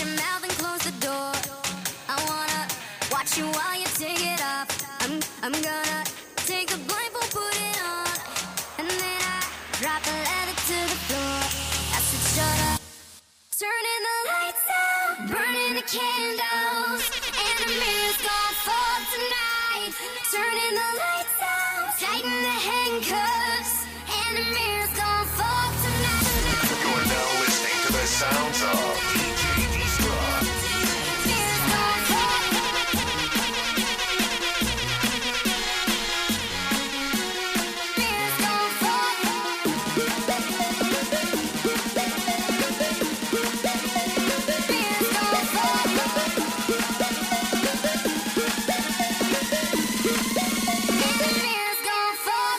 your mouth and close the door. I wanna watch you while you take it off. I'm gonna take the blindfold, put it on, and then I drop the leather to the floor. I said shut up. Turning the lights out, burning the candles, and the mirror's gonna fall tonight. Turning the lights out, tighten the handcuffs, and the mirror's gonna fall tonight. You're now listening to the sounds of DJ Destruct. Mirror's gonna fall. Mirror's gonna fall. Mirror's gonna fall. And the mirror's gonna fall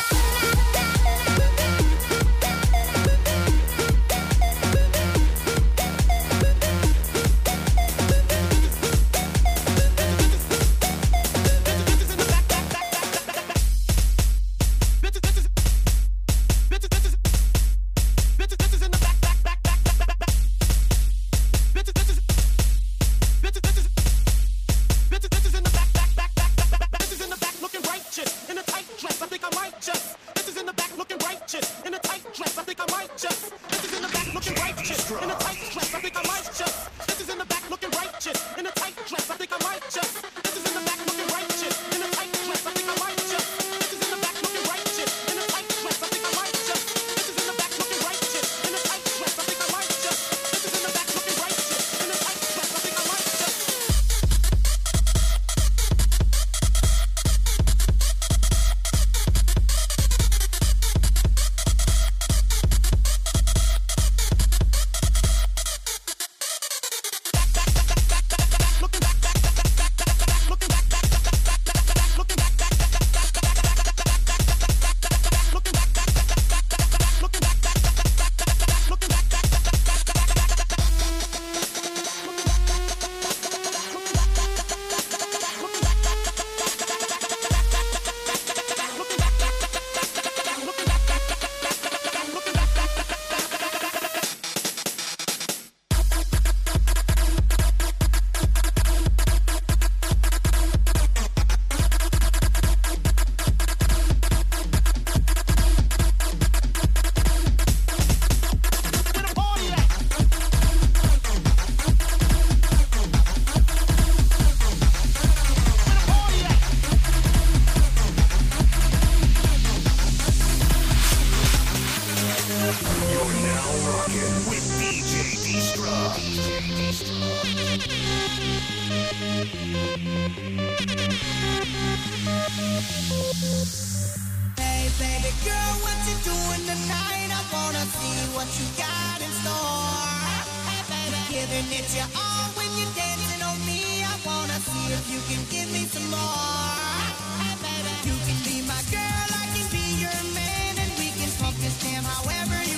Hey baby girl, what you doing tonight? I wanna see what you got in store. Hey baby, giving it your all when you're dancing on me. I wanna see if you can give me some more. Hey baby, you can be my girl, I can be your man, and we can pump this jam however you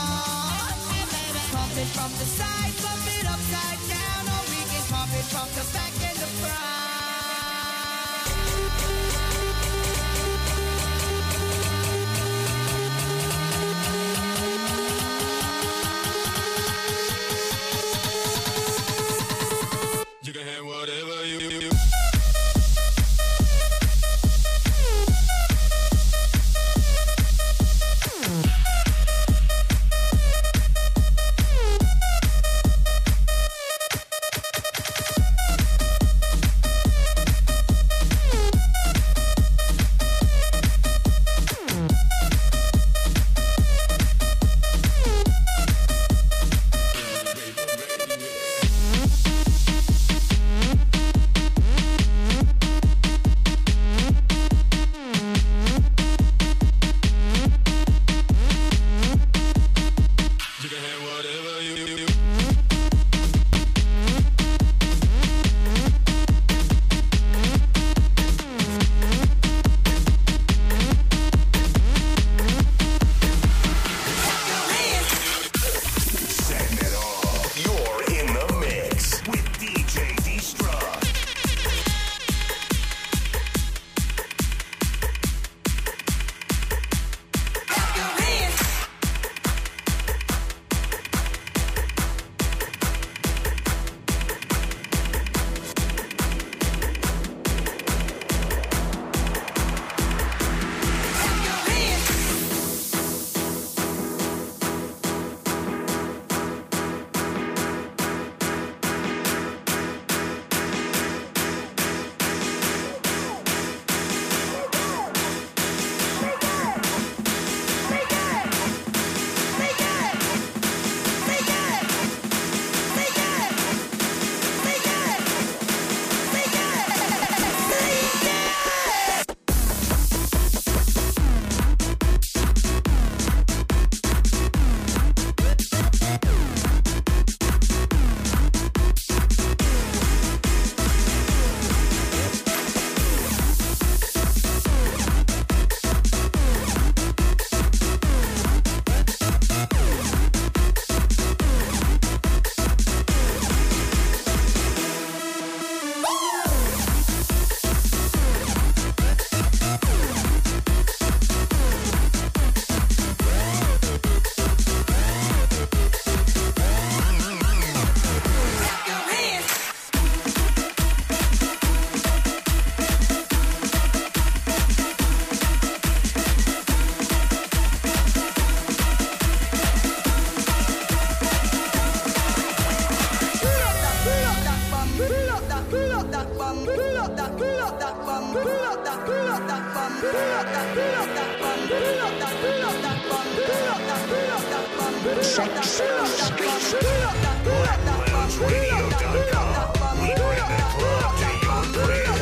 want. Hey baby, pump it from the side, pump it upside down, or we can pump it from the back and the front. You can have whatever you. BlackLoungeRadio.com. We bring the club to your crib.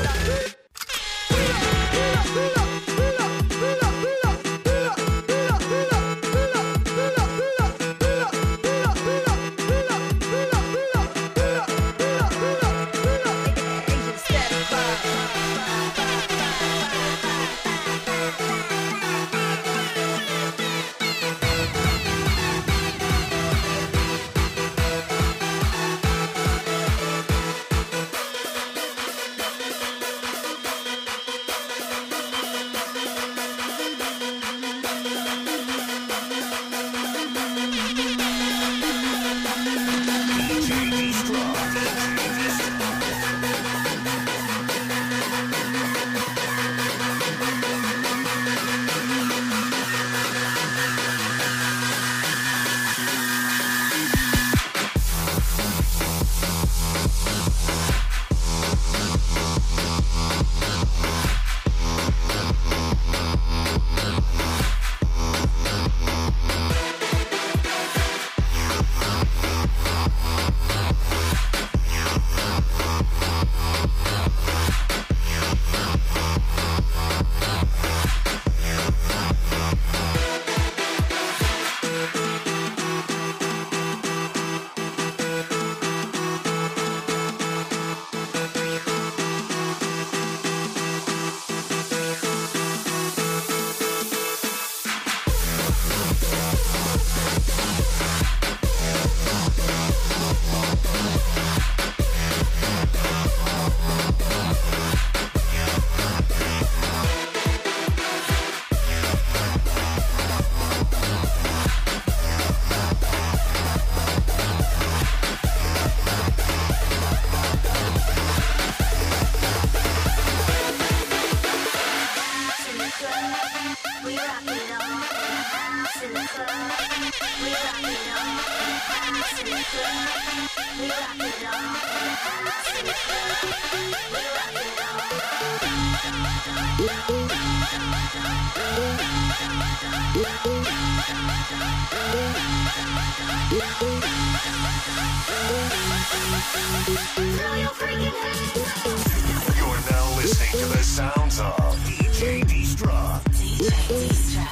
You're now listening to the sounds of DJ Destruct. DJ Destruct.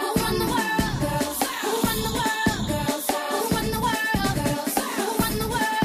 Who run the world?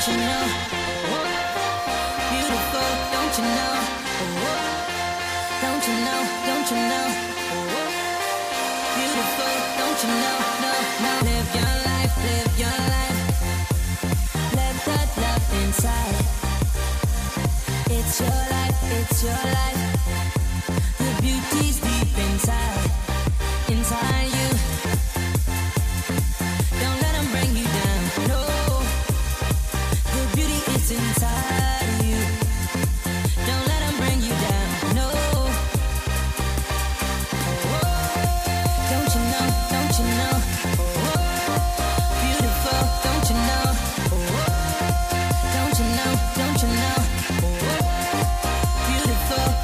don't you know? Beautiful, don't you know? Don't you know? Don't you know? Beautiful, don't you know? No, no. Live your life, live your life. Let that love inside. It's your life, it's your life. The beauty's deep inside, inside you. Don't let them bring you down, no. The beauty is inside you. Don't let them bring you down, no. Don't you know, don't you know? Beautiful, don't you know? Don't you know, don't you know? Beautiful.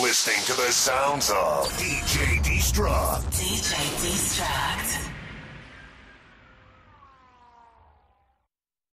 listening to the sounds of DJ Destruct. DJ Destruct.